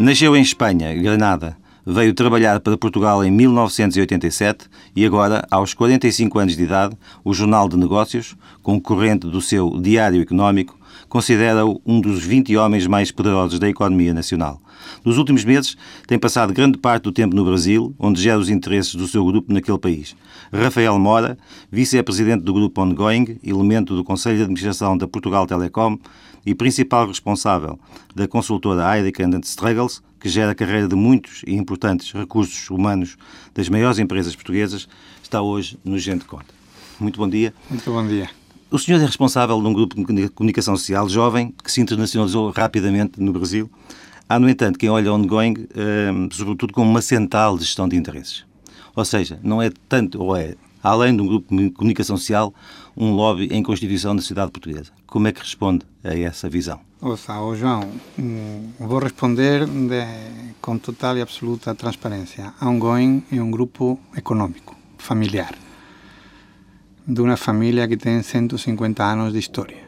Nasceu em Espanha, Granada. Veio trabalhar para Portugal em 1987 e agora, aos 45 anos de idade, o Jornal de Negócios, concorrente do seu Diário Económico, considera-o um dos 20 homens mais poderosos da economia nacional. Nos últimos meses, tem passado grande parte do tempo no Brasil, onde gera os interesses do seu grupo naquele país. Rafael Mora, vice-presidente do grupo Ongoing, elemento do Conselho de Administração da Portugal Telecom e principal responsável da consultora Heineken & Struggles, que gera a carreira de muitos e importantes recursos humanos das maiores empresas portuguesas, está hoje no Gente Conta. Muito bom dia. Muito bom dia. O senhor é responsável de um grupo de comunicação social jovem que se internacionalizou rapidamente no Brasil. Há, no entanto, quem olha Ongoing, sobretudo, como uma central de gestão de interesses. Ou seja, não é tanto, ou é, além de um grupo de comunicação social, um lobby em constituição da sociedade portuguesa. Como é que responde a essa visão? João, vou responder com total e absoluta transparência. A Ongoing é um grupo econômico, familiar, de uma família que tem 150 anos de história.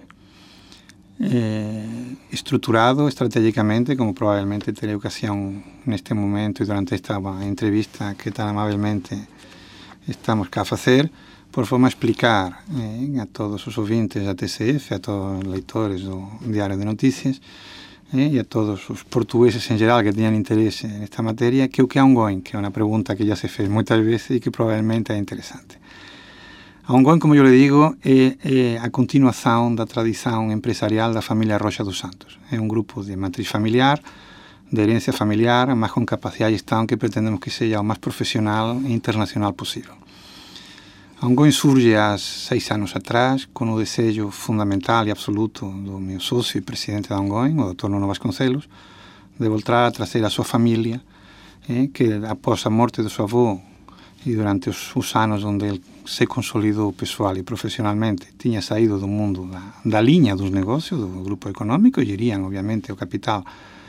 Estruturado estrategicamente, como provavelmente terei ocasión neste momento e durante esta entrevista que tan amablemente estamos cá a facer, por forma a explicar a todos os ouvintes da TSF, a todos os leitores do Diario de Noticias e a todos os portugueses en geral que teñan interese nesta materia, que o que é Ongoing, que é unha pregunta que já se fez moitas veces e que probablemente é interesante. A Ongoing, como eu lhe digo, é a continuação da tradição empresarial da família Rocha dos Santos. É um grupo de matriz familiar, de herência familiar, mas com capacidade de gestão que pretendemos que seja o mais profissional e internacional possível. A Ongoing surge há 6 anos atrás, com o desejo fundamental e absoluto do meu sócio e presidente da Ongoing, o Dr. Nuno Vasconcelos, de voltar a trazer a sua família, que após a morte do seu avô e durante os anos onde ele se consolidou pessoal e profissionalmente, tinha saído do mundo da linha dos negócios, do grupo econômico, e geriam, obviamente, o capital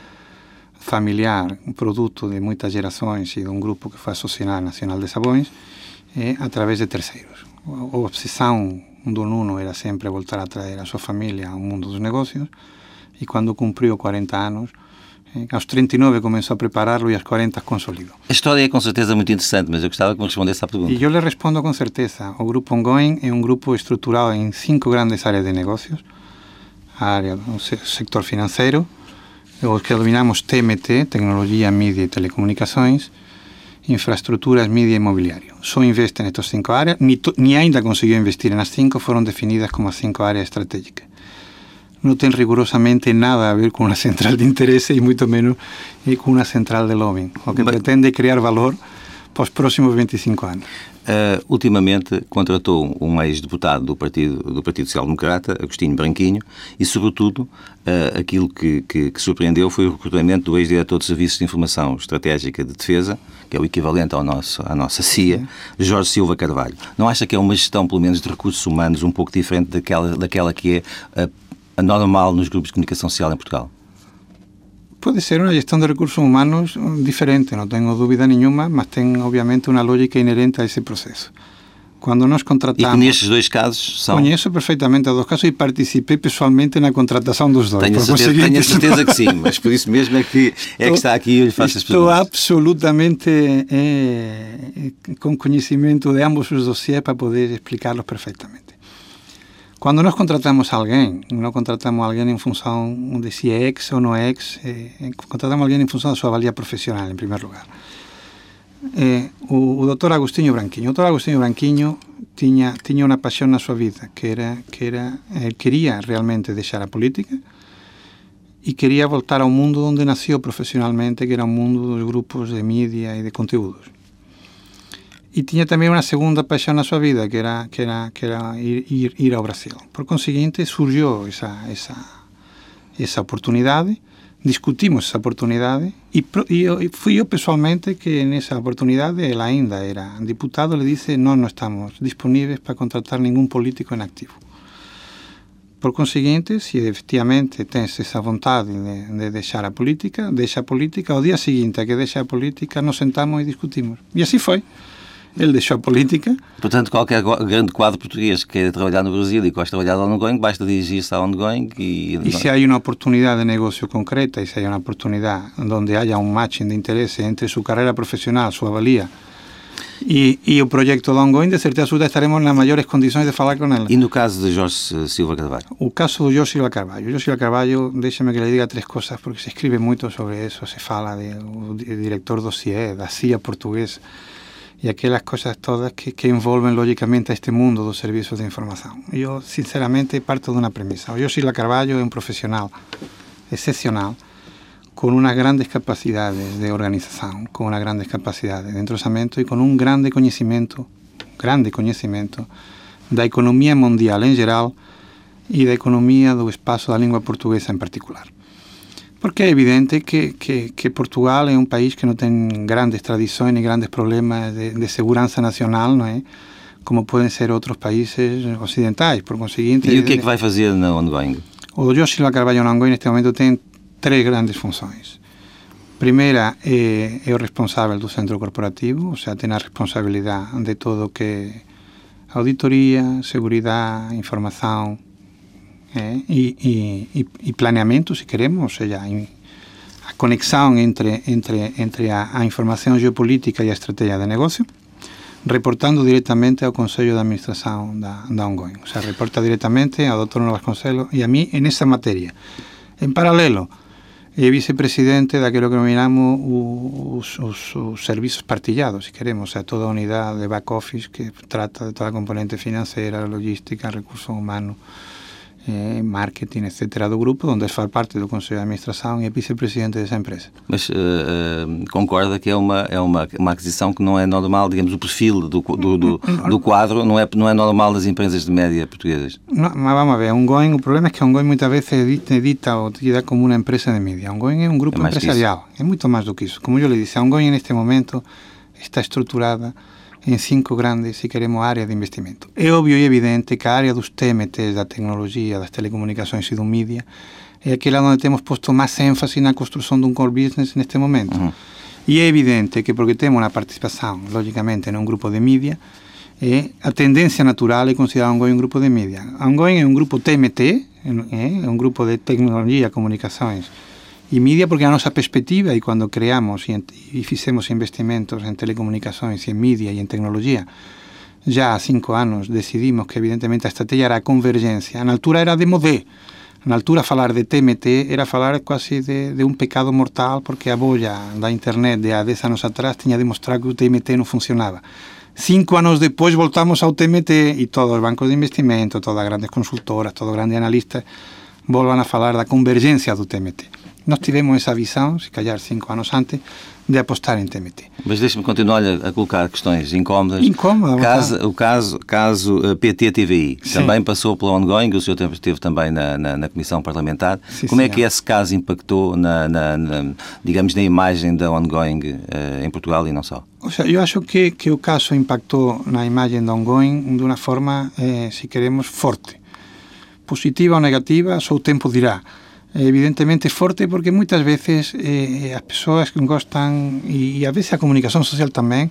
familiar, produto de muitas gerações e de um grupo que foi a Sociedade Nacional de Sabões, através de terceiros. A obsessão do Nuno era sempre voltar a trazer a sua família ao mundo dos negócios, e quando cumpriu 40 anos, aos 39 começou a prepará-lo e aos 40 consolidou. A história é com certeza muito interessante, mas eu gostava que me respondesse à pergunta. E eu lhe respondo com certeza. O grupo Ongoing é um grupo estruturado em 5 grandes áreas de negócios. A área do sector financeiro, o que denominamos TMT, Tecnologia, Mídia e Telecomunicações, infraestruturas, mídia e imobiliário. Só investe nestas 5 áreas, ni ainda conseguiu investir nas 5, foram definidas como as 5 áreas estratégicas. Não tem rigorosamente nada a ver com uma central de interesse e muito menos com uma central de lobbying. O que pretende é criar valor para os próximos 25 anos. Ultimamente contratou um ex-deputado do Partido Social Democrata, Agostinho Branquinho, e sobretudo aquilo que surpreendeu foi o recrutamento do ex-diretor de Serviços de Informação Estratégica de Defesa, que é o equivalente à nossa CIA, Jorge Silva Carvalho. Não acha que é uma gestão, pelo menos, de recursos humanos um pouco diferente daquela que é a normal nos grupos de comunicação social em Portugal? Pode ser uma gestão de recursos humanos diferente, não tenho dúvida nenhuma, mas tem, obviamente, uma lógica inerente a esse processo. Quando nós contratamos... E que nestes 2 casos são... Conheço perfeitamente os 2 casos e participei pessoalmente na contratação dos 2. Tenho a certeza que sim, mas por isso mesmo é que está aqui e eu lhe faço as perguntas. Estou absolutamente com conhecimento de ambos os dossiês para poder explicá-los perfeitamente. Quando nós contratamos alguém, não contratamos alguém em função de se é ex ou não é ex, contratamos alguém em função da sua valia profissional, em primeiro lugar. O Dr. Agostinho Branquinho. O Dr. Agostinho Branquinho tinha uma paixão na sua vida, que era ele queria realmente deixar a política e queria voltar ao mundo onde nasceu profissionalmente, que era o mundo dos grupos de mídia e de conteúdos. E tinha também uma segunda paixão na sua vida, que era ir ao Brasil. Por conseguinte, surgiu essa oportunidade, discutimos essa oportunidade, e fui eu pessoalmente que nessa oportunidade, ele ainda era deputado, lhe disse: nós não estamos disponíveis para contratar nenhum político em ativo. Por conseguinte, se efetivamente tens essa vontade de deixar a política, deixa a política, ao dia seguinte a que deixa a política, nos sentamos e discutimos. E assim foi. Ele deixou a política. Portanto, qualquer grande quadro português que queira trabalhar no Brasil e gosta de trabalhar no ongoing, basta dirigir-se ao ongoing e se há uma oportunidade de negócio concreta e se há uma oportunidade onde haya um matching de interesse entre sua carreira profissional, sua valia e o projeto do ongoing, de certeza absoluta estaremos nas maiores condições de falar com ele. E no caso de Jorge Silva Carvalho? O caso do Jorge Silva Carvalho. Jorge Silva Carvalho, deixe-me que lhe diga três coisas, porque se escreve muito sobre isso, se fala do diretor do CIE, da CIA portuguesa, e aquelas coisas todas que envolvem logicamente a este mundo dos serviços de informação. Eu, sinceramente, parto de uma premissa. O Jorge Silva Carvalho é um profissional excepcional, com umas grandes capacidades de organização, com umas grandes capacidades de entrosamento e com um grande conhecimento da economia mundial em geral e da economia do espaço da língua portuguesa em particular. Porque é evidente que Portugal é um país que não tem grandes tradições nem grandes problemas de segurança nacional, não é? Como podem ser outros países ocidentais, por conseguinte... E o que é que vai fazer na ongoing? O Jorge Silva Carvalho na ongoing neste momento tem três grandes funções. Primeira é o responsável do centro corporativo, ou seja, tem a responsabilidade de todo o que é auditoria, seguridade, informação e planeamento, se queremos, ou seja, a conexão entre a informação geopolítica e a estratégia de negócio, reportando diretamente ao Conselho de Administração da ongoing. Ou seja, reporta diretamente ao Dr. Nuno Vasconcelos e a mim nessa matéria. Em paralelo, é vicepresidente daquilo que denominamos os serviços partilhados, se queremos, ou seja, toda a unidade de back-office que trata de toda a componente financeira, logística, recursos humanos, marketing, etc., do grupo, onde faz parte do Conselho de Administração e é vice-presidente dessa empresa. Mas concorda que é uma aquisição que não é normal, digamos, o perfil do quadro não é normal das empresas de média portuguesas? Não, mas vamos a ver, o problema é que ongoing muitas vezes é dita ou dita como uma empresa de mídia. Ongoing é um grupo empresarial, é muito mais do que isso. Como eu lhe disse, a ongoing neste momento está estruturada em 5 grandes, se queremos, áreas de investimento. É óbvio e evidente que a área dos TMTs, da tecnologia, das telecomunicações e do mídia, é aquela onde temos posto mais ênfase na construção de um core business neste momento. E é evidente que, porque temos uma participação, logicamente, num grupo de mídia, a tendência natural é considerar ongoing um grupo de mídia. A ongoing é um grupo TMT, é um grupo de tecnologia, comunicações e mídia, porque a nossa perspectiva, e quando criamos e fizemos investimentos em telecomunicações, em mídia e em tecnologia, já há 5 anos decidimos que evidentemente a estratégia era a convergência. Na altura era de modé. Na altura falar de TMT era falar quase de um pecado mortal, porque a bolha da internet de há 10 anos atrás tinha demonstrado que o TMT não funcionava. 5 anos depois voltamos ao TMT e todos os bancos de investimento, todas as grandes consultoras, todos os grandes analistas voltam a falar da convergência do TMT. Nós tivemos essa visão, se calhar 5 anos antes, de apostar em TMT. Mas deixe-me continuar a colocar questões incómodas. O caso PT-TVI também passou pela ongoing, o senhor esteve também na Comissão Parlamentar. Sim, como é que esse caso impactou digamos, na imagem da ongoing em Portugal e não só? Ou seja, eu acho que o caso impactou na imagem da ongoing de uma forma, se queremos, forte. Positiva ou negativa, só o tempo dirá. Evidentemente forte porque muitas vezes as pessoas gostam, e às vezes a comunicação social também,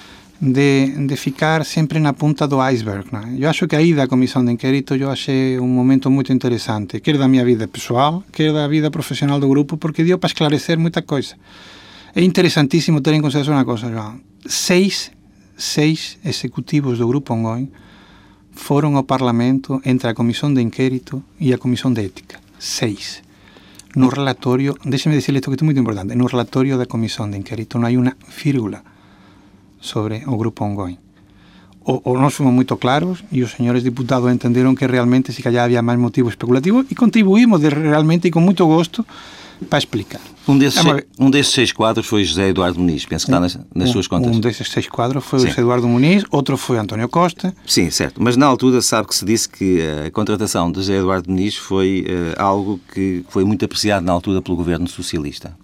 de ficar sempre na ponta do iceberg. Não é? Eu acho que a ida à comissão de inquérito eu achei um momento muito interessante, quer da minha vida pessoal, quer da vida profissional do grupo, porque deu para esclarecer muita coisa. É interessantíssimo ter em consideração uma coisa, João. 6 executivos do grupo ongoing foram ao Parlamento entre a comissão de inquérito e a comissão de ética. 6. No relatório, deixe-me dizer isto que é muito importante, no relatório da comissão de inquérito não há uma vírgula sobre o grupo ongoing. Ou nós fomos muito claros e os senhores deputados entenderam que realmente se calhar havia mais motivo especulativo e contribuímos realmente e com muito gosto para explicar. Um desses 6 quadros foi José Eduardo Muniz, penso que está nas suas contas. Um desses 6 quadros foi o José Eduardo Muniz, outro foi António Costa. Sim, certo. Mas na altura sabe que se disse que a contratação de José Eduardo Muniz foi algo que foi muito apreciado na altura pelo governo socialista.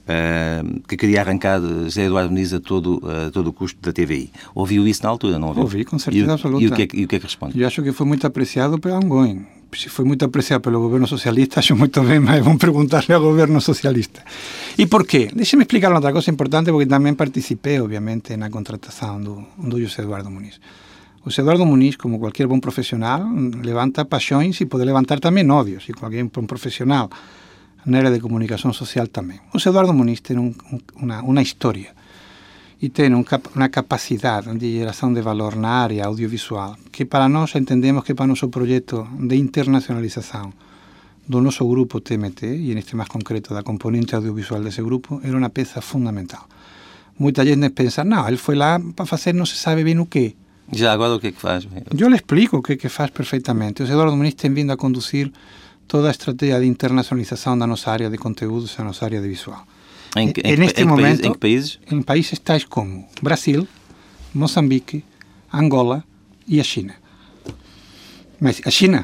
que queria arrancar José Eduardo Muniz a todo o custo da TVI. Ouviu isso na altura, não ouviu? Ouvi, com certeza absoluta. E o que é que responde? Eu acho que foi muito apreciado pelo Ongoing. Se foi muito apreciado pelo governo socialista, acho muito bem, mas vamos perguntarle ao governo socialista. E por quê? Deixe-me explicar outra coisa importante, porque também participei, obviamente, na contratação do José Eduardo Muniz. O José Eduardo Muniz, como qualquer bom profissional, levanta paixões e pode levantar também ódios, e qualquer bom profissional na área de comunicação social também. O José Eduardo Muniz tem uma história e tem uma capacidade de geração de valor na área audiovisual que para nós entendemos que para o nosso projeto de internacionalização do nosso grupo TMT, e neste mais concreto da componente audiovisual desse grupo, era uma peça fundamental. Muita gente pensa, não, ele foi lá para fazer não se sabe bem o quê. Já agora o que é que faz? Eu lhe explico o que é que faz perfeitamente. O José Eduardo Muniz tem vindo a conduzir toda a estratégia de internacionalização da nossa área de conteúdos, da nossa área de visual. Em que países? Em países tais como Brasil, Moçambique, Angola e a China. Mas a China.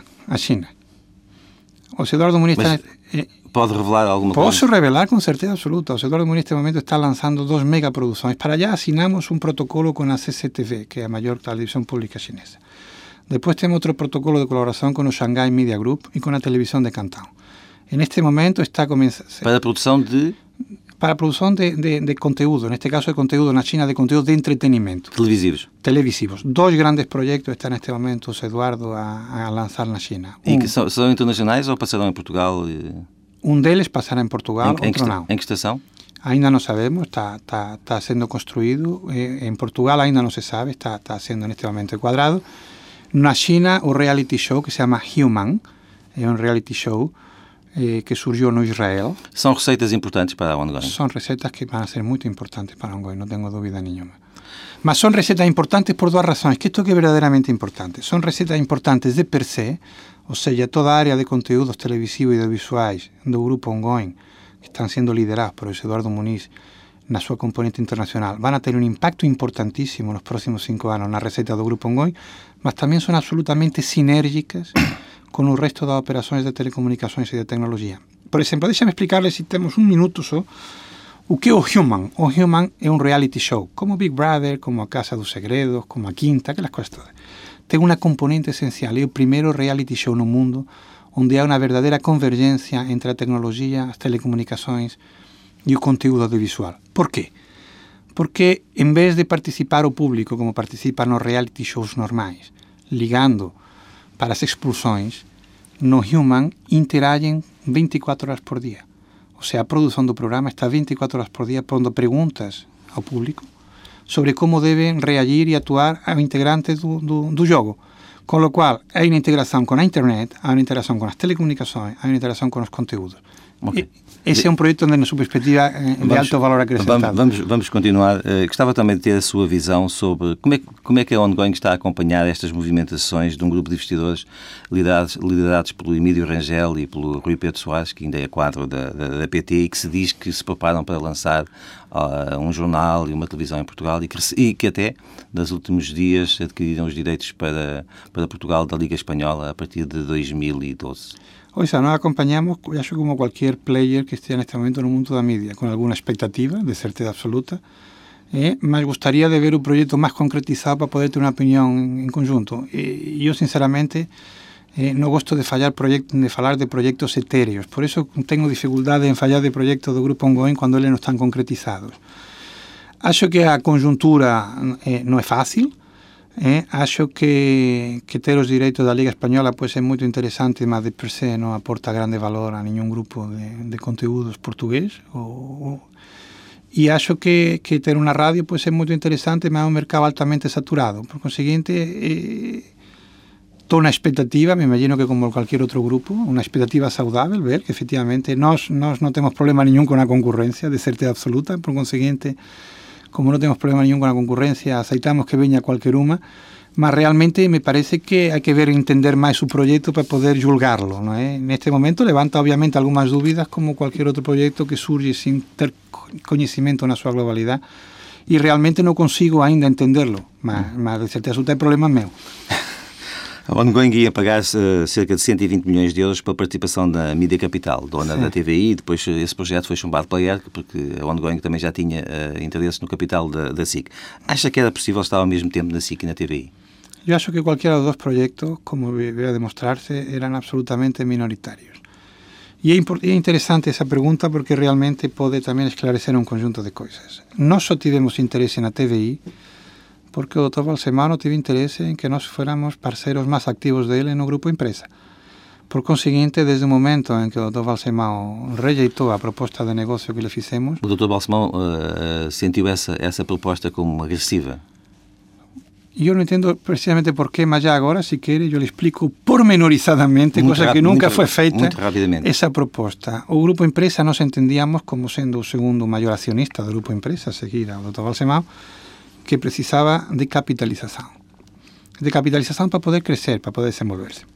O José Eduardo Muniz está... Pode revelar alguma coisa? Posso revelar com certeza absoluta. O José Eduardo Muniz neste momento está lançando 2 megaproduções. Para allá assinamos um protocolo com a CCTV, que é a maior televisão pública chinesa. Depois temos outro protocolo de colaboração com o Shanghai Media Group e com a televisão de Cantão. Neste momento está começando... Para a produção de... Para a produção de conteúdo, neste caso de conteúdo na China, de conteúdo de entretenimento. Televisivos. 2 grandes projetos estão neste momento, o Eduardo, a lançar na China. E que são internacionais ou passarão em Portugal? Um deles passará em Portugal, outro não. Em que estação? Ainda não sabemos, está sendo construído. Em Portugal ainda não se sabe, está sendo neste momento enquadrado. Na China, o reality show que se chama Human, é um reality show que surgiu no Israel. São receitas importantes para a Ongoing? São receitas que vão ser muito importantes para a Ongoing, não tenho dúvida nenhuma. Mas são receitas importantes por 2 razões, que isto é verdadeiramente importante. São receitas importantes de per se, ou seja, toda a área de conteúdos televisivos e audiovisuais do grupo Ongoing, que estão sendo liderados por José Eduardo Muniz na sua componente internacional, vão ter um impacto importantíssimo nos próximos 5 anos na receita do grupo Ongoing, mas também são absolutamente sinérgicas com o resto das operações de telecomunicações e de tecnologia. Por exemplo, deixa-me explicar-lhe, se temos 1 minuto só, o que é o Human. O Human é um reality show, como Big Brother, como a Casa dos Segredos, como a Quinta, aquelas coisas todas. Tem uma componente essencial, é o primeiro reality show no mundo onde há uma verdadeira convergência entre a tecnologia, as telecomunicações e o conteúdo audiovisual. Por quê? Porque, em vez de participar o público como participa nos reality shows normais, ligando para as expulsões, no Human interagem 24 horas por dia. Ou seja, a produção do programa está 24 horas por dia pondo perguntas ao público sobre como devem reagir e atuar aos integrantes do jogo. Com o qual, há uma integração com a internet, há uma integração com as telecomunicações, há uma integração com os conteúdos. Okay. Esse é um projeto onde, na sua perspectiva, de alto valor acrescentado. Vamos continuar. Gostava também de ter a sua visão sobre como é que a Ongoing está a acompanhar estas movimentações de um grupo de investidores liderados pelo Emílio Rangel e pelo Rui Pedro Soares, que ainda é quadro da PT, e que se diz que se preparam para lançar um jornal e uma televisão em Portugal e que até, nos últimos dias, adquiriram os direitos para Portugal da Liga Espanhola a partir de 2012. Hoy nós acompanhamos, eu acho, como qualquer player que esteja neste momento no mundo da mídia, com alguma expectativa, de certeza absoluta, mas gostaria de ver o projeto mais concretizado para poder ter uma opinião em conjunto. E eu, sinceramente, não gosto de falar de projetos etéreos, por isso tenho dificuldade em falar de projetos do Grupo Ongoing quando eles não estão concretizados. Acho que a conjuntura não é fácil. Acho que ter os direitos da Liga Espanhola pode ser muito interessante, mas de per se não aporta grande valor a nenhum grupo de conteúdos português. E acho que ter uma rádio pode ser muito interessante, mas é um mercado altamente saturado. Por conseguinte, estou na expectativa, me imagino que como qualquer outro grupo, uma expectativa saudável, ver que efectivamente nós não temos problema nenhum com a concorrência, de certeza absoluta. Por conseguinte, como não temos problema nenhum com a concorrência, aceitamos que venha qualquer uma, mas realmente me parece que hai que ver e entender máis o proxecto para poder julgarlo, non é? Neste momento levanta obviamente algunhas dúbidas como cualquier outro proxecto que surge sin ter coñecimento na súa globalidade e realmente non consigo ainda entenderlo, mas de certeza é problema meu. A Ongoing ia pagar cerca de 120 milhões de euros pela participação da Mídia Capital, dona da TVI, e depois esse projeto foi chumbado pela ERC, porque a Ongoing também já tinha interesse no capital da SIC. Acha que era possível estar ao mesmo tempo na SIC e na TVI? Yo acho que cualquiera de los dos proyectos, como debería demostrarse, eran absolutamente minoritarios. E é interessante essa pergunta porque realmente pode também esclarecer um conjunto de coisas. Nós só tivemos interesse na TVI porque o Dr. Balsemão teve interesse em que nós fôramos parceiros mais ativos dele no grupo empresa. Por conseguinte, desde o momento em que o Dr. Balsemão rejeitou a proposta de negócio que lhe fizemos... O Dr. Balsemão sentiu essa proposta como agressiva? Eu não entendo precisamente porquê, mas já agora, se quer, eu lhe explico pormenorizadamente, coisa que nunca foi feita, essa proposta. O Grupo Empresa nós entendíamos como sendo o segundo maior acionista do Grupo Empresa, a seguir ao Dr. Balsemão, que precisava de capitalização. De capitalização para poder crescer, para poder desenvolver-se.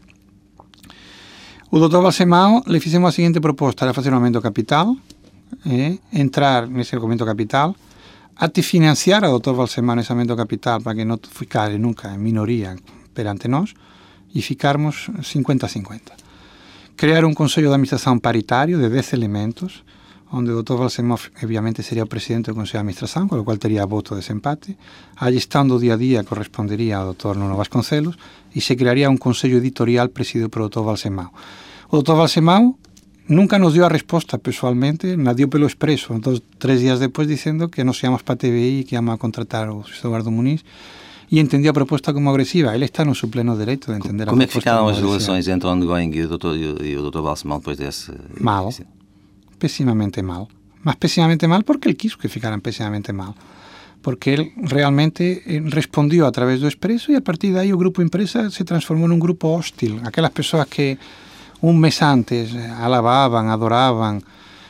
O Dr. Balsemão lhe fizemos a seguinte proposta, era fazer um aumento capital, entrar nesse aumento capital, até financiar ao Dr. Balsemão nesse aumento capital para que não ficasse nunca em minoria perante nós e ficarmos 50-50. Criar um conselho de administração paritário de 10 elementos, onde o Dr. Balsemão, obviamente, seria o presidente do conselho de administração, com o qual teria voto de desempate. A gestão do dia a dia corresponderia ao Dr. Nuno Vasconcelos e se criaria um conselho editorial presidido pelo Dr. Balsemão. O Dr. Balsemão nunca nos dio a resposta pessoalmente, nos dio pelo expreso, 3 días depois dizendo que nós íamos para a TVI e que íamos a contratar o Eduardo Muniz e entendia a proposta como agressiva. Ele está no seu pleno direito de entender a proposta. Como é que ficaram as relações entre o Ongoing e o Dr. Balsemão depois desse... Mal, pessimamente mal. Mas pessimamente mal porque ele quis que ficaran pessimamente mal. Porque ele realmente respondió a través do expreso e a partir de aí o Grupo Empresa se transformou num grupo hostil. Aquelas pessoas que un mes antes alababan, adoraban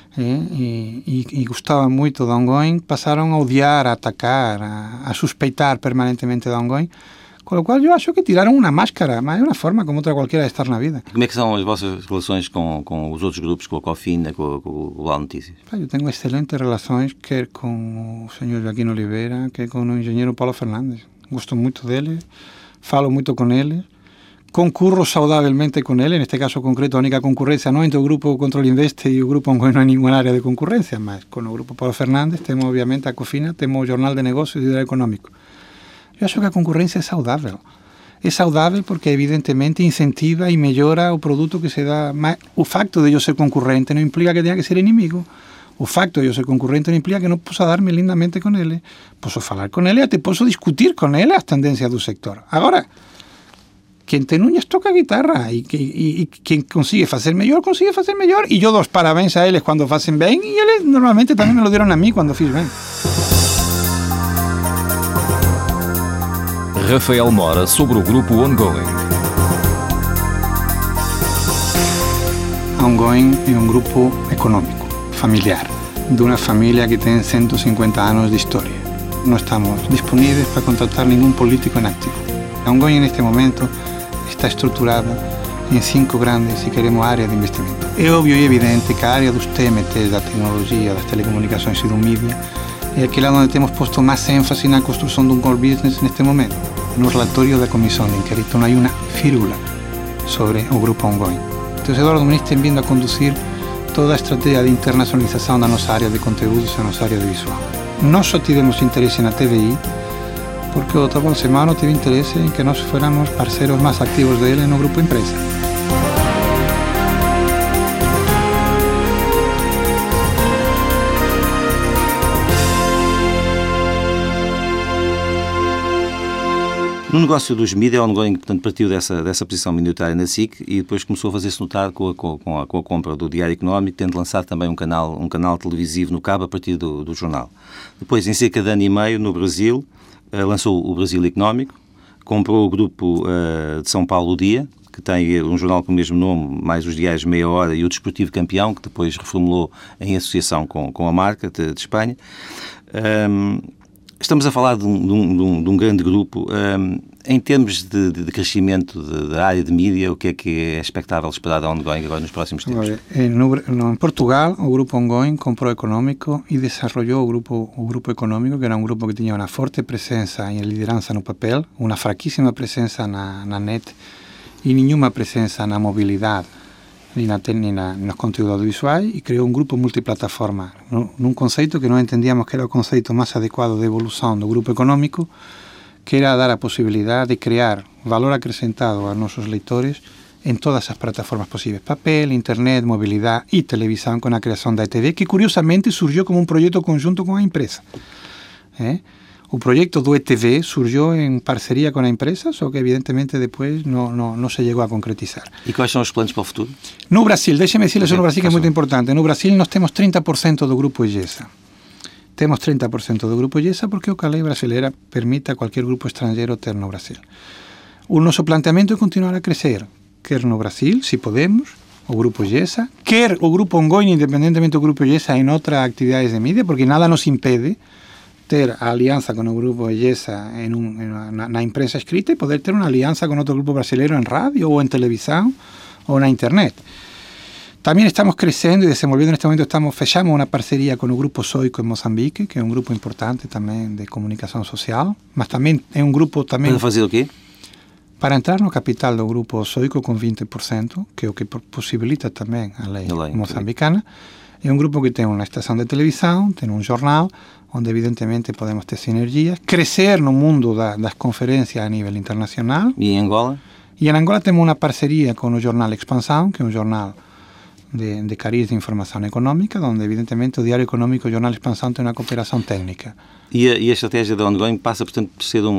e gostaban moito da Ongoing, pasaron a odiar, a atacar, a suspeitar permanentemente da Ongoing, con lo cual eu acho que tiraron unha máscara, mas é unha forma como outra cualquiera de estar na vida. Como é que são as vossas relações com os outros grupos, com a Cofina, com o Global Notícias? Eu tenho excelentes relações, quer com o señor Joaquín Oliveira, quer com o engenheiro Paulo Fernández. Gosto moito dele, falo moito con ele, concurro saudavelmente con ele, neste caso concreto a única concurrencia non entre o Grupo Control Investe e o Grupo Ongoing non hai ninguna área de concurrencia, mas con o Grupo Paulo Fernández temos obviamente a Cofina, temos o Jornal de Negocios e o Diario Económico. Eu acho que a concurrencia é saudável. É saudável porque evidentemente incentiva e mellora o produto que se dá, mas o facto de eu ser concorrente non implica que tenha que ser inimigo. O facto de eu ser concorrente non implica que non possa darme lindamente con ele. Posso falar con ele e até posso discutir con ele as tendencias do sector. Agora, quien ten uñas toca guitarra e quien consigue facer mellor, e eu dou os parabéns a eles cando facen ben e eles normalmente tamén me lo dieron a mí cando fiz ben. Rafael Mora sobre o grupo Ongoing. Ongoing é un grupo económico, familiar, de unha familia que ten 150 anos de historia. Non estamos disponíveis para contratar ningún político en activo. Ongoing en este momento está estruturada em 5 grandes, se queremos, áreas de investimento. É óbvio e evidente que a área dos TMTs, da tecnologia, das telecomunicações e do mídia é aquela onde temos posto máis énfase na construção de um core business neste momento. No relatório da Comissão de Inquérito non hai unha fírula sobre o grupo Ongoing. Então, Eduardo Muniz tem vindo a conduzir toda a estrategia de internacionalização da nossa área de conteúdos e da nossa área de visual. Nós só tivemos interesse na TVI porque o Dr. Balsemão teve interesse em que nós fôramos parceiros mais activos dele no Grupo Empresa. No negócio dos mídias, o Ongoing, portanto, partiu dessa posição minoritária na SIC e depois começou a fazer-se notar com a compra do Diário Económico, tendo lançado também um canal televisivo no cabo a partir do jornal. Depois, em cerca de ano e meio, no Brasil, lançou o Brasil Económico, comprou o grupo de São Paulo, O Dia, que tem um jornal com o mesmo nome, mais os diários Meia Hora e o Desportivo Campeão, que depois reformulou em associação com a marca de Espanha. Estamos a falar de um grande grupo. Em termos de crescimento da área de mídia, o que é expectável esperar da Ongoing agora nos próximos tempos? En Portugal, o Grupo Ongoing comprou Económico e desenvolveu o Grupo Económico, que era um grupo que tinha uma forte presença e liderança no papel, uma fraquíssima presença na net e nenhuma presença na mobilidade nem nos conteúdos audiovisuais, e criou um grupo multiplataforma, num conceito que nós entendíamos que era o conceito mais adequado de evolução do grupo econômico, que era dar a possibilidade de criar valor acrescentado aos nossos leitores em todas as plataformas possíveis, papel, internet, mobilidade e televisão, com a criação da ETV, que curiosamente surgiu como um projeto conjunto com a empresa. O proyecto do ETV surgiu em parceria com a empresa, só que evidentemente depois não se chegou a concretizar. E quais são os planos para o futuro? No Brasil, deixe-me dizer isso no Brasil, que é muito importante. No Brasil nós temos 30% do grupo IGESA. Temos 30% do grupo IGESA porque a lei brasileira permite a qualquer grupo estrangeiro ter no Brasil. O nosso planteamento é continuar a crescer, quer no Brasil, se podemos, o grupo IGESA, quer o grupo Ongoing, independentemente do grupo IGESA, em outras atividades de mídia, porque nada nos impede ter a aliança com o grupo IGESA na imprensa escrita e poder ter uma aliança com outro grupo brasileiro em rádio ou em televisão ou na internet. Também estamos crescendo e desenvolvendo neste momento, fechamos uma parceria com o grupo Soico em Moçambique, que é um grupo importante também de comunicação social, mas também é um grupo também... Para fazer o quê? Para entrar no capital do grupo Soico com 20%, que é o que possibilita também a lei moçambicana. É um grupo que tem uma estação de televisão, tem um jornal, onde evidentemente podemos ter sinergias, crescer no mundo das conferências a nível internacional. E em Angola? E em Angola temos uma parceria com o jornal Expansão, que é um jornal de cariz de informação econômica, onde evidentemente o Diário Econômico e o jornal Expansão tem uma cooperação técnica. E a estratégia da Ongoing passa, portanto, por ser,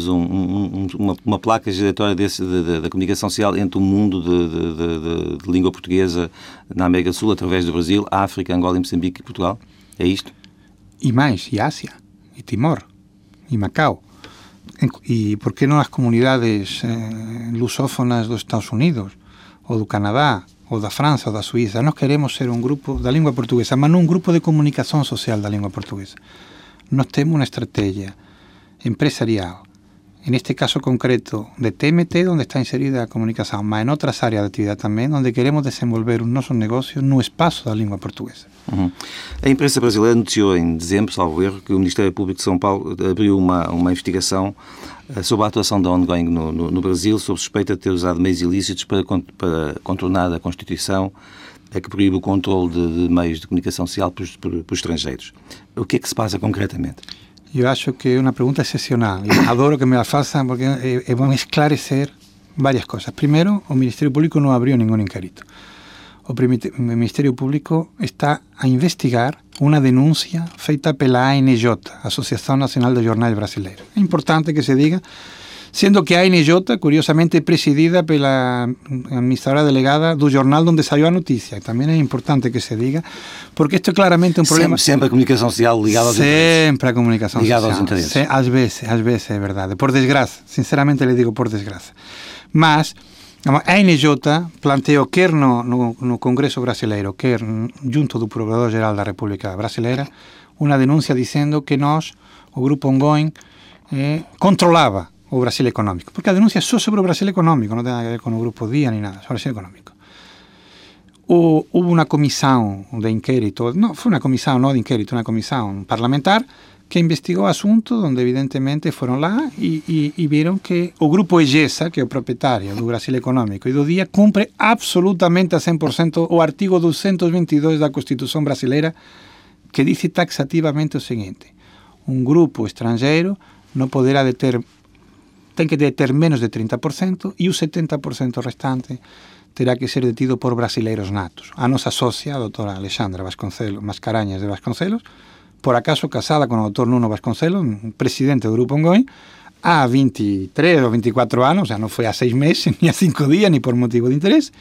uma placa giratória da comunicação social entre o mundo de língua portuguesa na América do Sul, através do Brasil, África, Angola, Moçambique e Portugal? É isto? E mais, e Ásia, e Timor, e Macau. E por que não as comunidades lusófonas dos Estados Unidos, ou do Canadá, ou da França, ou da Suíça? Nós queremos ser um grupo da língua portuguesa, mas não um grupo de comunicação social da língua portuguesa. Nós temos uma estratégia empresarial, neste caso concreto de TMT, onde está inserida a comunicação, mas em outras áreas de atividade também, onde queremos desenvolver os nossos negócios no espaço da língua portuguesa. Uhum. A imprensa brasileira noticiou em dezembro, salvo erro, que o Ministério Público de São Paulo abriu uma investigação sobre a atuação da Ongoing no Brasil, sob suspeita de ter usado meios ilícitos para contornar a Constituição, que proíbe o controle de meios de comunicação social por estrangeiros. O que é que se passa concretamente? Eu acho que é uma pergunta excepcional. Eu adoro que me la façam porque é bom esclarecer várias coisas. Primeiro, o Ministério Público não abriu nenhum inquérito. O Ministério Público está a investigar uma denúncia feita pela ANJ, Associação Nacional de Jornais Brasileiros. É importante que se diga, sendo que a ANJ, curiosamente, é presidida pela administradora delegada do jornal onde saiu a notícia. Também é importante que se diga, porque isto é claramente um problema... Sempre a comunicação social ligada aos interesses. Sempre a comunicação ligada social. Ligada aos interesses. Às vezes é verdade. Por desgraça. Sinceramente lhe digo por desgraça. Mas a ANJ planteou, quer no Congresso Brasileiro, quer junto do Procurador-Geral da República Brasileira, uma denúncia dizendo que nós, o Grupo Ongoing, controlava o Brasil económico, porque a denuncia é só sobre o Brasil económico, não tem nada a ver com o Grupo Dia nem nada, sobre o Brasil económico. Houve uma comissão de inquérito, não foi uma comissão não de inquérito, uma comissão parlamentar que investigou o assunto, onde evidentemente foram lá e viram que o Grupo IGESA, que é o proprietário do Brasil económico e do Dia, cumpre absolutamente a 100% o artigo 222 da Constituição brasileira, que diz taxativamente o seguinte: um grupo estrangeiro não poderá tem que deter menos de 30% e o 70% restante terá que ser detido por brasileiros natos. A nossa sócia, a doutora Alexandra Mascarenhas de Vasconcelos, por acaso casada com o doutor Nuno Vasconcelos, presidente do Grupo Ongoing, há 23 ou 24 anos, já não foi há 6 meses, nem há 5 dias, nem por motivo de interesse,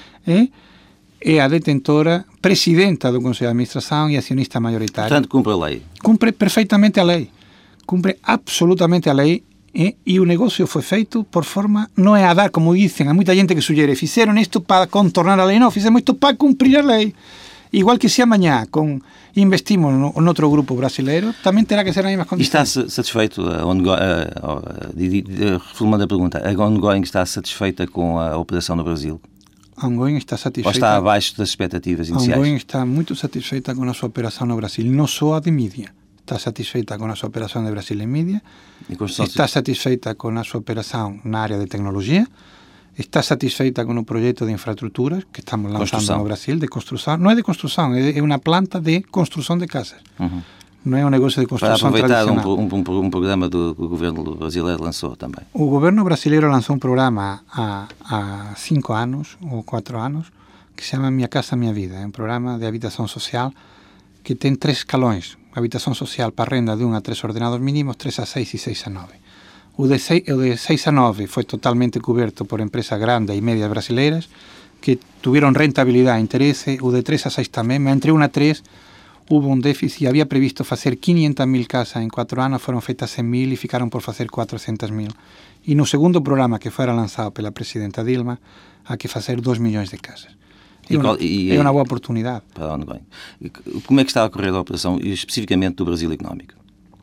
é a detentora, presidenta do Conselho de Administração e acionista maioritária. Portanto, cumpre a lei. Cumpre perfeitamente a lei. Cumpre absolutamente a lei. E o negócio foi feito por forma, não é a dar, como dizem, há muita gente que sugere, fizeram isto para contornar a lei, não, fizemos isto para cumprir a lei. Igual que se amanhã investimos no outro grupo brasileiro, também terá que ser nas mesmas condições. E está satisfeito, reformando a pergunta, a Ongoing está satisfeita com a operação no Brasil? A Ongoing está satisfeita. Ou está abaixo das expectativas iniciais? A Ongoing está muito satisfeita com a sua operação no Brasil, não só a de mídia. Está satisfeita com a sua operação de Brasil em mídia, está satisfeita com a sua operação na área de tecnologia, está satisfeita con o proxecto de infraestructuras que estamos lanzando no Brasil, de construción. Non é de construción, é unha planta de construción de casas. Non é un negocio de construção tradicional. Para aproveitar um programa que o governo brasileiro lançou também. O governo brasileiro lançou um programa há 5 anos ou 4 anos que se chama Minha Casa Minha Vida. É um programa de habitação social que tem 3 escalões. Habitação social para renda de 1 a 3 ordenados mínimos, 3 a 6 e 6 a 9. O de 6 a 9 foi totalmente coberto por empresas grandes e médias brasileiras que tiveram rentabilidade e interesse. O de 3 a 6 também, mas entre 1 a 3 houve um déficit. Había previsto facer 500.000 casas en 4 anos, foron feitas 100.000 e ficaron por facer 400.000. E no segundo programa que fora lanzado pela presidenta Dilma, há que facer 2 milhões de casas. É uma boa oportunidade. Para onde vem? Como é que está a correr a operação, especificamente do Brasil Económico?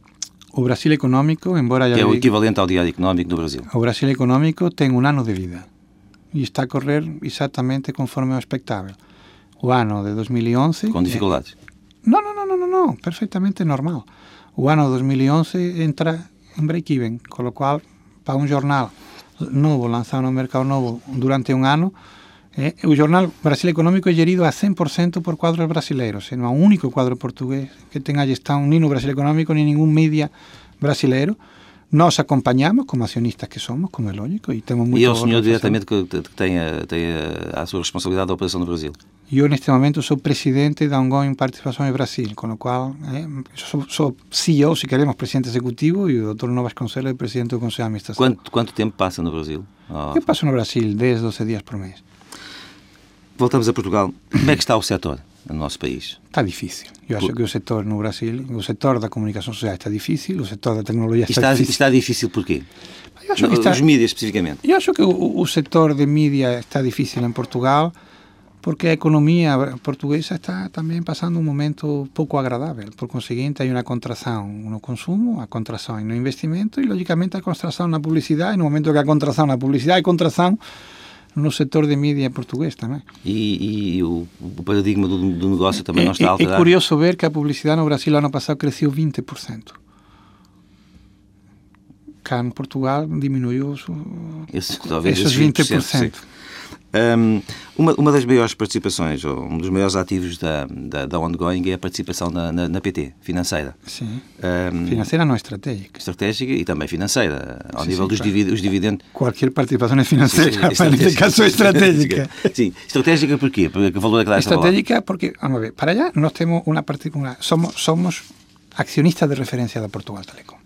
O Brasil Económico, embora... Que é o equivalente ao Diário Económico do Brasil. O Brasil Económico ten un ano de vida e está a correr exatamente conforme ao expectável. O ano de 2011... Com dificuldades? No, perfectamente normal. O ano 2011 entra en break-even, con lo cual, para un jornal novo, lanzado no mercado novo durante un ano, o jornal Brasil Económico é gerido a 100% por cuadros brasileiros. Non há un único cuadro portugués que tenga gestão ni no Brasil Económico ni ningún media brasileiro. Nós acompañamos como acionistas que somos, como é lógico, e temos muito... E é o senhor diretamente que tem a sua responsabilidade da operação no Brasil? Eu, neste momento, sou presidente da Ongoing Participações Brasil, com o qual sou CEO, se queremos, presidente executivo, e o Dr. Novas Conselho é presidente do Conselho de Administração. Quanto tempo passa no Brasil? Eu passo no Brasil 10, 12 dias por mês. Voltamos a Portugal. Como é que está o setor no nosso país? Está difícil. Eu acho que o setor no Brasil, o setor da comunicação social está difícil, o setor da tecnologia está difícil. Está difícil porquê? Os mídias, especificamente. Eu acho que o setor de mídia está difícil em Portugal porque a economia portuguesa está também passando um momento pouco agradável. Por conseguinte, há uma contração no consumo, a contração no investimento e, logicamente, a contração na publicidade. E no momento que a contração na publicidade, a contração no setor de mídia português também. E o paradigma do negócio também não está a alterar? É curioso ver que a publicidade no Brasil no ano passado cresceu 20%. Cá em Portugal diminuiu esses 20%. Uma das maiores participações, ou um dos maiores ativos da Ongoing é a participação na PT, financeira. Sim, financeira não estratégica. Estratégica e também financeira, ao nível dos dividendos. Qualquer participação é financeira, mas neste caso é estratégica. Sim, estratégica porquê? Porque o valor é que dá esta estratégica porque, vamos ver, para allá nós temos uma particular, somos accionistas de referência da Portugal Telecom.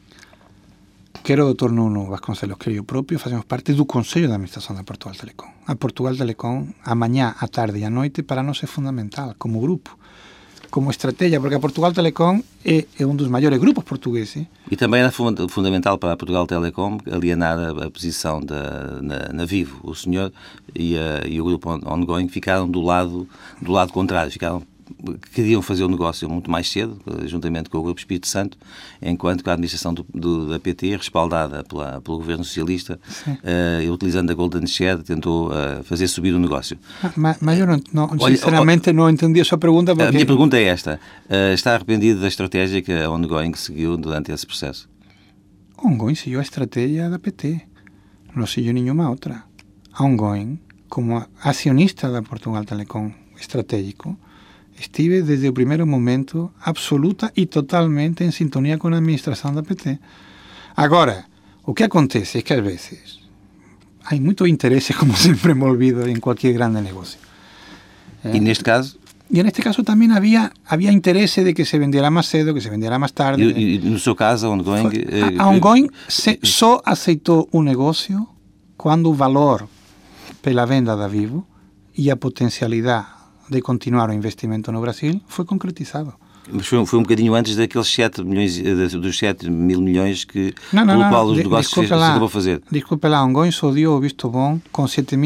Quero o Dr. Nuno Vasconcelos, que eu próprio, fazemos parte do Conselho de Administração da Portugal Telecom. A Portugal Telecom, amanhã, à tarde e à noite, para nós é fundamental, como grupo, como estratégia, porque a Portugal Telecom é um dos maiores grupos portugueses. E também é fundamental para a Portugal Telecom alienar a posição na Vivo. O senhor e o grupo Ongoing ficaram do lado contrário, queriam fazer o negócio muito mais cedo, juntamente com o Grupo Espírito Santo, enquanto que a administração da PT, respaldada pelo governo socialista, utilizando a Golden Share, tentou fazer subir o negócio. Mas eu sinceramente não entendi a sua pergunta. Porque... A minha pergunta é esta. Está arrependido da estratégia que a Ongoing seguiu durante esse processo? A Ongoing seguiu a estratégia da PT. Não seguiu nenhuma outra. A Ongoing, como acionista da Portugal Telecom estratégico, estive desde o primeiro momento absoluta e totalmente em sintonia com a administração da PT. Agora, o que acontece é que às vezes há muito interesse, como sempre envolvido em qualquer grande negócio. E neste caso? E neste caso também havia interesse de que se vendiera mais cedo, que se vendiera mais tarde. E no seu caso, a Ongoing... A Ongoing só aceitou o negócio quando o valor pela venda da Vivo e a potencialidade de continuar o investimento no Brasil foi concretizado. Mas foi um bocadinho antes daqueles 7 mil milhões que, pelo qual os negócios se acabou a fazer. Desculpe lá, a Ongoing só deu o visto bom com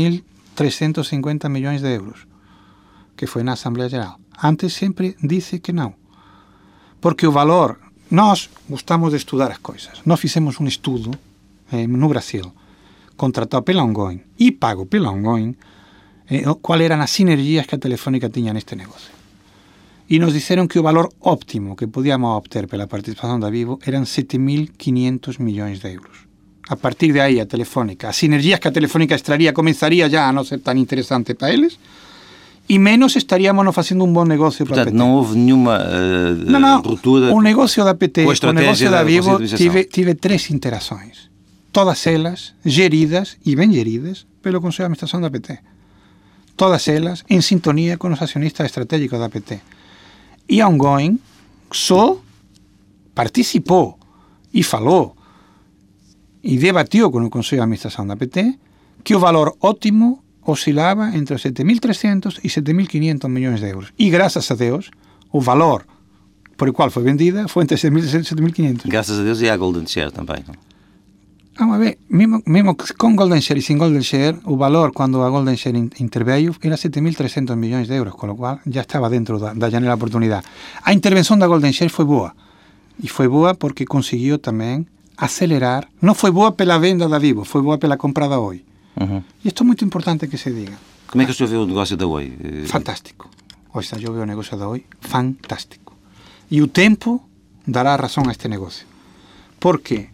7.350 milhões de euros, que foi na Assembleia Geral. Antes sempre disse que não. Porque o valor... Nós gostamos de estudar as coisas. Nós fizemos um estudo no Brasil, contratado pela Ongoing e pago pela Ongoing, quais eram as sinergias que a Telefónica tinha neste negócio. E nos disseram que o valor óptimo que podíamos obter pela participação da Vivo eram 7.500 milhões de euros. a partir de aí a Telefónica, as sinergias que a Telefónica extraría comenzaría já a non ser tan interesante para eles, e menos estaríamos facendo un bom negocio para a PT. Portanto, não houve nenhuma ruptura. O negocio da PT, o negocio da Vivo, tive 3 interações. Todas elas geridas, e ben geridas, pelo Consello de Administración da PT. Todas elas en sintonía con os accionistas estratégicos da PT. E a ongoing só participou e falou e debatiu con o Consello de Administración da PT que o valor óptimo oscilaba entre os 7.300 e 7.500 millóns de euros. E, graças a Deus, o valor por o qual foi vendida foi entre 7.300 e 7.500. Graças a Deus e à Golden Share também. Vamos a ver, mesmo con Golden Share e sin Golden Share, o valor, cando a Golden Share interveio, era 7.300 millóns de euros, con lo cual já estaba dentro da janela de oportunidade. A intervención da Golden Share foi boa. E foi boa porque conseguiu tamén acelerar. Non foi boa pela venda da Vivo, foi boa pela compra da Oi. E isto é muito importante que se diga. Como é que o senhor vê o negócio da Oi? Fantástico. Ou seja, eu veo o negócio da Oi fantástico. E o tempo dará razón a este negocio. Porque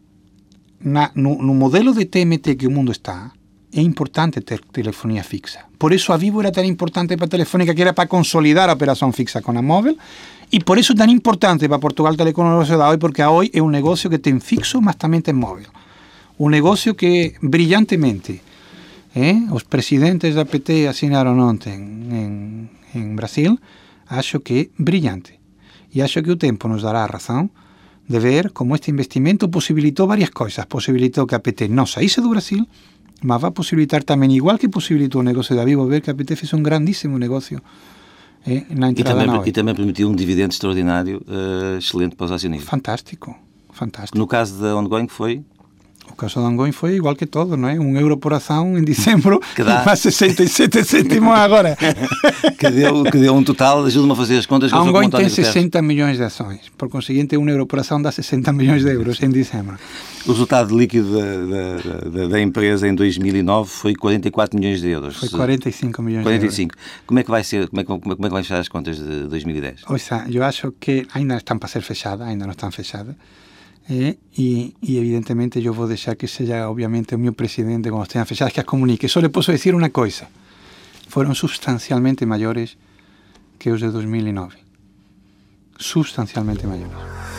no modelo de TMT que o mundo está, é importante ter telefonía fixa. Por eso a Vivo era tan importante para a Telefónica, que era para consolidar a operación fixa con a móvil, e por eso tan importante para Portugal Telecom o negocio da Oi, porque a Oi é un negocio que ten fixo, mas tamén ten móvil. Un negocio que brillantemente os presidentes da PT asinaron ontem en Brasil, acho que é brillante. E acho que o tempo nos dará a razón de ver como este investimento posibilitou varias coisas. Posibilitou que a PT non saíse do Brasil, mas vai posibilitar tamén, igual que posibilitou o negocio da Vivo, ver que a PT fez un grandísimo negocio na entrada na Oi. E também permitiu um dividendo extraordinário excelente para os acionistas. Fantástico, fantástico. No caso da Ongoing foi? O caso da Ongoing foi igual que todo, non é? €1 por ação em dezembro, que dá mais 67 cêntimos agora. que deu um total, ajuda-me a fazer as contas. A Ongoing tem 60 milhões de ações, por conseguinte €1 por ação dá 60 milhões de euros em dezembro. O resultado líquido da empresa em 2009 foi 44 milhões de euros. Foi 45 milhões 45. de euros. Como é que vai ser? Como é que vai fechar as contas de 2010? Ou seja, eu acho que ainda estão para ser fechadas, ainda não estão fechadas. E evidentemente eu vou deixar que seja obviamente o meu presidente quando estejam fechadas que as comunique. Só lhe posso dizer uma coisa: foram substancialmente maiores que os de 2009, substancialmente maiores.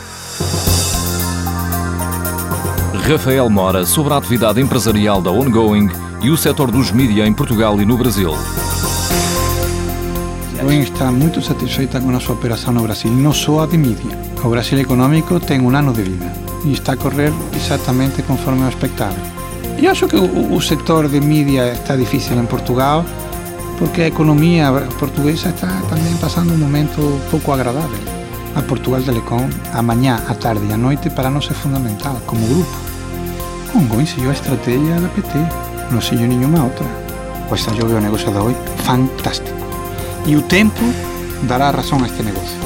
Rafael Mora sobre a atividade empresarial da Ongoing e o setor dos mídia em Portugal e no Brasil. A Ongoing está muito satisfeita com a sua operação no Brasil, não só a de mídia. O Brasil económico tem um ano de vida e está a correr exatamente conforme o expectável. Eu acho que o setor de mídia está difícil em Portugal porque a economia portuguesa está também passando um momento pouco agradável. A Portugal Telecom, amanhã, à tarde e à noite, para nós é fundamental como grupo. A Ongoing seguiu a estratégia da PT, não seguiu nenhuma outra. Pois eu veo o negócio da Oi fantástico. E o tempo dará razão a este negócio.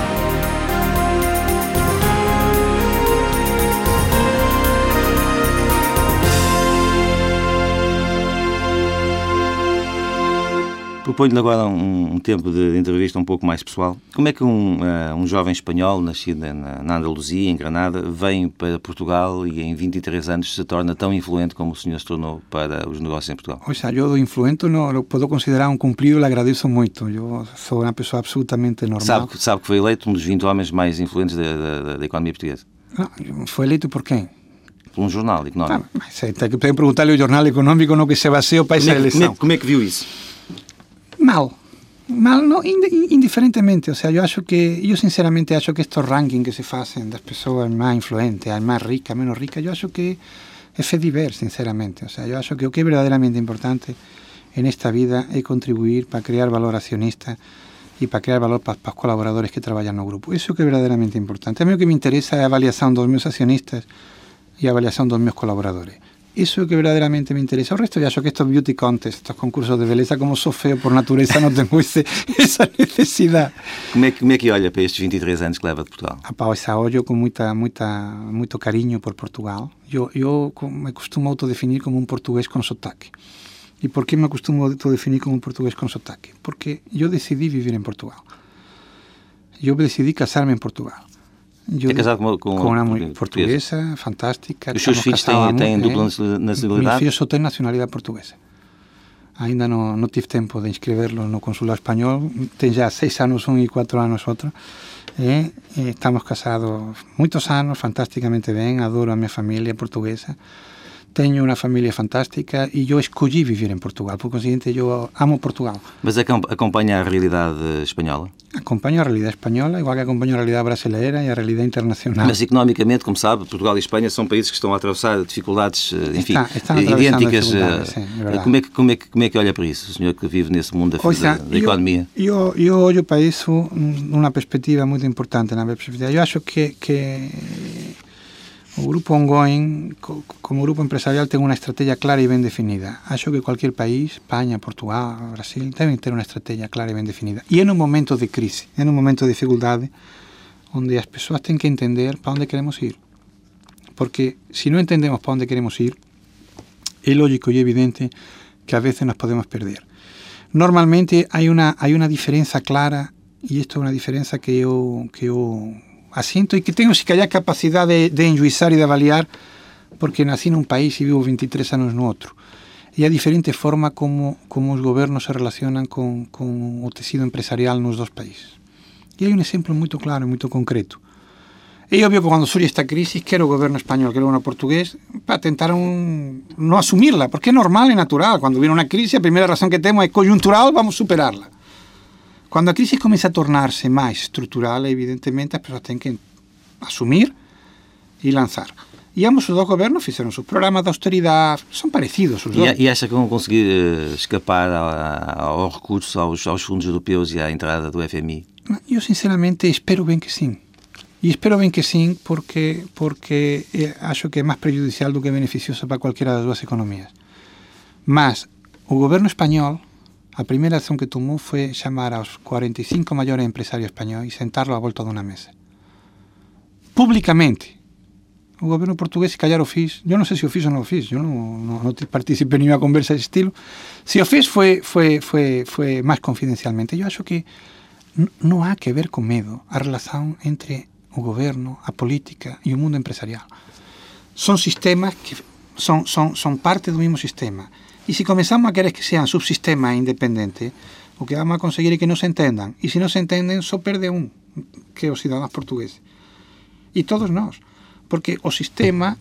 Proponho-lhe agora um tempo de entrevista um pouco mais pessoal. Como é que um jovem espanhol, nascido na Andaluzia, em Granada, vem para Portugal e em 23 anos se torna tão influente como o senhor se tornou para os negócios em Portugal? O sea, eu do influente não lo posso considerar um cumprido e lhe agradeço muito. Eu sou uma pessoa absolutamente normal. Sabe que foi eleito um dos 20 homens mais influentes da economia portuguesa? Não, foi eleito por quem? Por um jornal económico. Mas tem que perguntar-lhe ao jornal económico no que se baseou para essa eleição. Como é que viu isso? Mal, não, indiferentemente. Ou seja, eu sinceramente acho que estes rankings que se fazem das pessoas mais influentes, as mais ricas, menos ricas, eu acho que é fediver, sinceramente. Ou seja, eu acho que o que é verdadeiramente importante nesta vida é contribuir para criar valor acionista e para criar valor para os colaboradores que trabalham no grupo. Isso é o que é verdadeiramente importante. A mim o que me interessa é a avaliação dos meus acionistas e a avaliação dos meus colaboradores. Isso é o que verdadeiramente me interesa. O resto, eu acho que estes beauty contests, estes concursos de beleza, como sou feo por natureza, não tenho essa necessidade. Como é que olha para estes 23 anos que leva de Portugal? Olho com muito carinho por Portugal. Eu me costumo autodefinir como um português com sotaque. E por que me costumo autodefinir como um português com sotaque? Porque eu decidi viver em Portugal. Eu decidi casar-me em Portugal. É casado com uma mulher portuguesa, fantástica. Os seus filhos têm dupla nacionalidade? Meus filhos só têm nacionalidade portuguesa. Ainda não tive tempo de inscrevê-los no consulado espanhol. Tem já 6 anos um e 4 anos outro. Estamos casados muitos anos, fantasticamente bem. Adoro a minha família portuguesa. Tenho uma família fantástica e eu escolhi viver em Portugal. Por conseguinte, eu amo Portugal. Mas acompanha a realidade espanhola? Acompanho a realidade espanhola, igual que acompanho a realidade brasileira e a realidade internacional. Mas economicamente, como sabe, Portugal e Espanha são países que estão a atravessar dificuldades, enfim, estão idênticas. Sim, é como é que olha para isso, o senhor que vive nesse mundo da economia? Eu olho para isso numa perspectiva muito importante. Eu acho que o grupo Ongoing, como grupo empresarial, tem uma estratégia clara e bem definida. Acho que qualquer país, Espanha, Portugal, Brasil, devem ter uma estratégia clara e bem definida. E é num momento de crise, é num momento de dificuldade, onde as pessoas têm que entender para onde queremos ir. Porque se não entendemos para onde queremos ir, é lógico e evidente que a vezes nos podemos perder. Normalmente hay una diferencia clara, y esto es una diferencia que yo asiento y que tengo, si que haya capacidad de enjuizar y de avaliar, porque nací en un país y vivo 23 años en otro. Y hay diferentes formas como los gobiernos se relacionan con el tejido empresarial en los dos países. Y hay un ejemplo muy claro y muy concreto. Es obvio que cuando surge esta crisis, quiero el gobierno español, quiero el gobierno portugués, para intentar no asumirla, porque es normal y natural. Cuando viene una crisis, la primera razón que tenemos es coyuntural, vamos a superarla. Cuando la crisis comienza a tornarse más estructural, evidentemente, las personas tienen que asumir y lanzar. E ambos os dos gobernos fizeram seus programas de austeridade, são parecidos os dois. E acha que vão conseguir escapar ao recurso aos fundos europeus e à entrada do FMI? Eu, sinceramente, espero bem que sim. E espero bem que sim, porque acho que é mais prejudicial do que beneficioso para qualquer das duas economias. Mas o governo espanhol, a primeira ação que tomou foi chamar aos 45 maiores empresários espanhóis e sentá-los à volta de uma mesa. Publicamente. O governo português, se calhar o fiz, eu não sei se o fiz ou não o fiz, eu não participei em nenhuma conversa desse estilo. Se o fiz foi mais confidencialmente. Eu acho que não há que ver com medo a relação entre o governo, a política e o mundo empresarial. São sistemas que são parte do mesmo sistema. E se começamos a querer que sejam subsistemas independentes, o que vamos a conseguir é que não se entendam. E se não se entendem, só perde que é os cidadãos portugueses. E todos nós. Porque o sistema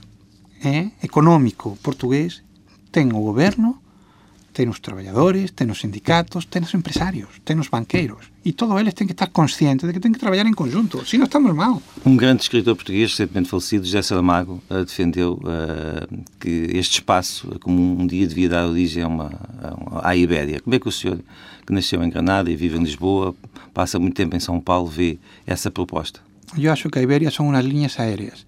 económico portugués ten o goberno, ten os traballadores, ten os sindicatos, ten os empresarios, ten os banqueiros. E todos eles têm que estar conscientes de que têm que trabalhar em conjunto, senão estamos mal. Um grande escritor português, recentemente falecido, José Saramago, defendeu que este espaço comum um dia devia dar origem à Ibéria. Como é que o senhor, que nasceu em Granada e vive em Lisboa, passa muito tempo em São Paulo, vê essa proposta? Eu acho que a Ibéria são umas linhas aéreas.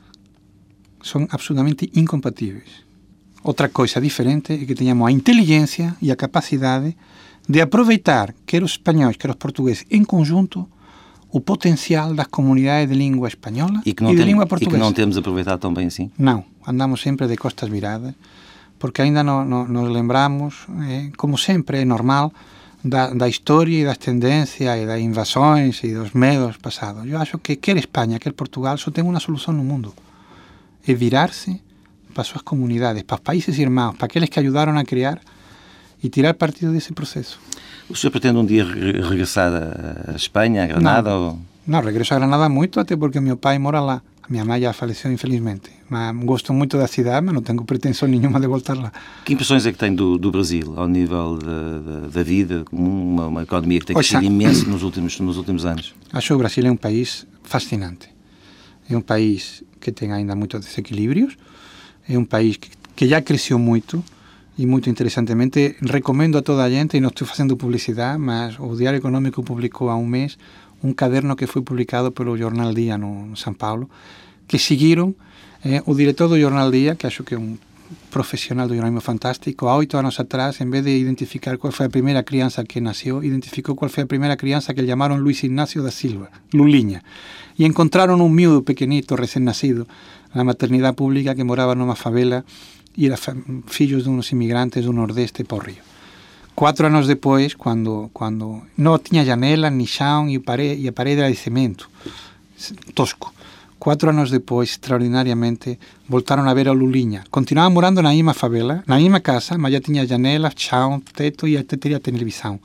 Son absolutamente incompatíveis. Outra coisa diferente é que tenhamos a inteligência e a capacidade de aproveitar, quer os espanhóis, quer os portugueses, em conjunto, o potencial das comunidades de língua espanhola e de língua portuguesa. E que não temos aproveitado tão bem assim? Não, andamos sempre de costas viradas, porque ainda nos lembramos, como sempre é normal, da história e das tendências e das invasões e dos medos passados. Eu acho que quer Espanha, quer Portugal, só tem uma solução no mundo. É virar-se para as suas comunidades, para os países irmãos, para aqueles que ajudaram a criar e tirar partido desse processo. O senhor pretende um dia regressar a Espanha, a Granada? Não, regresso a Granada muito, até porque meu pai mora lá. A minha mãe já faleceu, infelizmente. Mas gosto muito da cidade, mas não tenho pretensão nenhuma de voltar lá. Que impressões é que tem do Brasil, ao nível da vida comum, uma economia que tem crescido imenso nos últimos anos? Acho que o Brasil é um país fascinante. É um país que tem ainda muitos desequilíbrios, é um país que já cresceu muito e muito interessantemente recomendo a toda a gente, e não estou fazendo publicidade, mas o Diário Econômico publicou há um mês um caderno que foi publicado pelo Jornal Dia no São Paulo, que seguiram o diretor do Jornal Dia, que acho que é um profissional do jornalismo fantástico, há 8 anos atrás, em vez de identificar qual foi a primeira criança que nasceu, identificou qual foi a primeira criança que chamaram Luís Ignacio da Silva, Lulinha. E encontraram um miúdo pequenito, recém-nascido, na maternidade pública, que morava numa favela e era filho de uns imigrantes do Nordeste para o Rio. 4 anos depois, quando não tinha janela, ni chão, e a parede era de cimento, tosco. 4 anos depois, extraordinariamente, voltaram a ver a Lulinha. Continuavam morando na mesma favela, na mesma casa, mas já tinha janelas, chão, teto e até teria televisão.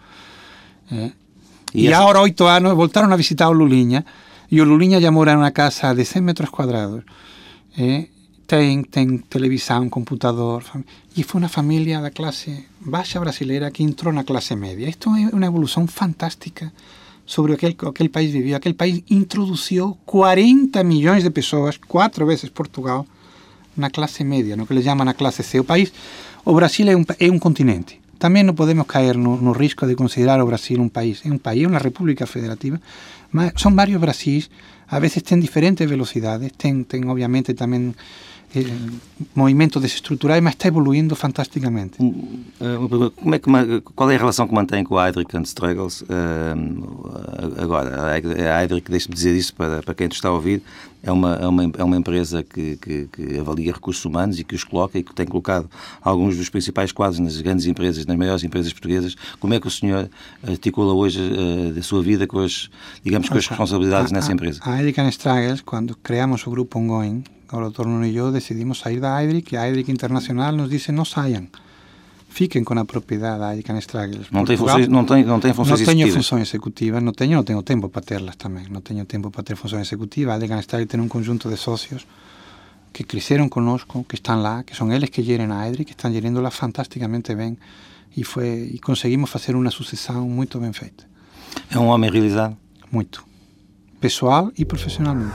E agora, 8 anos, voltaram a visitar o Lulinha, e o Lulinha já mora numa casa de 100 metros quadrados. Tem televisão, computador, e foi uma família da classe baixa brasileira que entrou na classe média. Isto é uma evolução fantástica sobre aquele país vivia. Aquele país introduziu 40 milhões de pessoas, 4 vezes Portugal, na classe média, no que eles chamam a classe C. O Brasil é um continente. Também não podemos cair no risco de considerar o Brasil um país. É um país, é uma república federativa, mas são vários Brasis, a vezes tem diferentes velocidades, tem obviamente também movimentos desestruturais, mas está evoluindo fantasticamente. Qual é a relação que mantém com a Heidrick & Struggles agora? A Heidrick, deixe-me dizer isso para quem te está a ouvir, é uma empresa que avalia recursos humanos e que os coloca e que tem colocado alguns dos principais quadros nas grandes empresas, nas maiores empresas portuguesas. Como é que o senhor articula hoje a sua vida com as responsabilidades nessa empresa? A Heidrick & Struggles, quando criamos o grupo Ongoing, o Dr. Nuno e eu decidimos sair da Heidrick, e a Heidrick Internacional nos disse: não saiam, fiquem com a propriedade da Heidrick & Struggles. Não tem funções executivas? Não tenho funções executivas, não tenho tempo para terlas também, não tenho tempo para ter funções executivas. A Heidrick & Struggles tem um conjunto de sócios que cresceram conosco, que estão lá, que são eles que gerem a Heidrick, que estão gerindo-la fantasticamente bem, e conseguimos fazer uma sucessão muito bem feita. É um homem realizado? Muito. Pessoal e profissionalmente.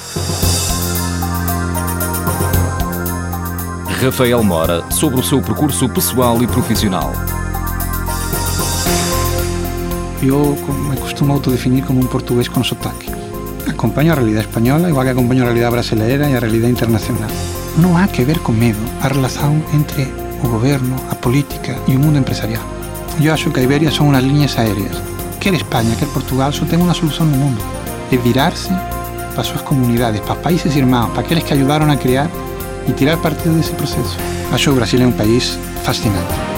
Rafael Mora, sobre o seu percurso pessoal e profissional. Eu me costumo autodefinir como um português com sotaque. Acompanho a realidade espanhola, igual que acompanho a realidade brasileira e a realidade internacional. Não há que ver com medo a relação entre o governo, a política e o mundo empresarial. Eu acho que a Iberia são umas linhas aéreas. Quer Espanha, quer Portugal, só tem uma solução no mundo. É virar-se para as suas comunidades, para os países irmãos, para aqueles que ajudaram a criar e tirar partido desse processo. Acho que o Brasil é um país fascinante.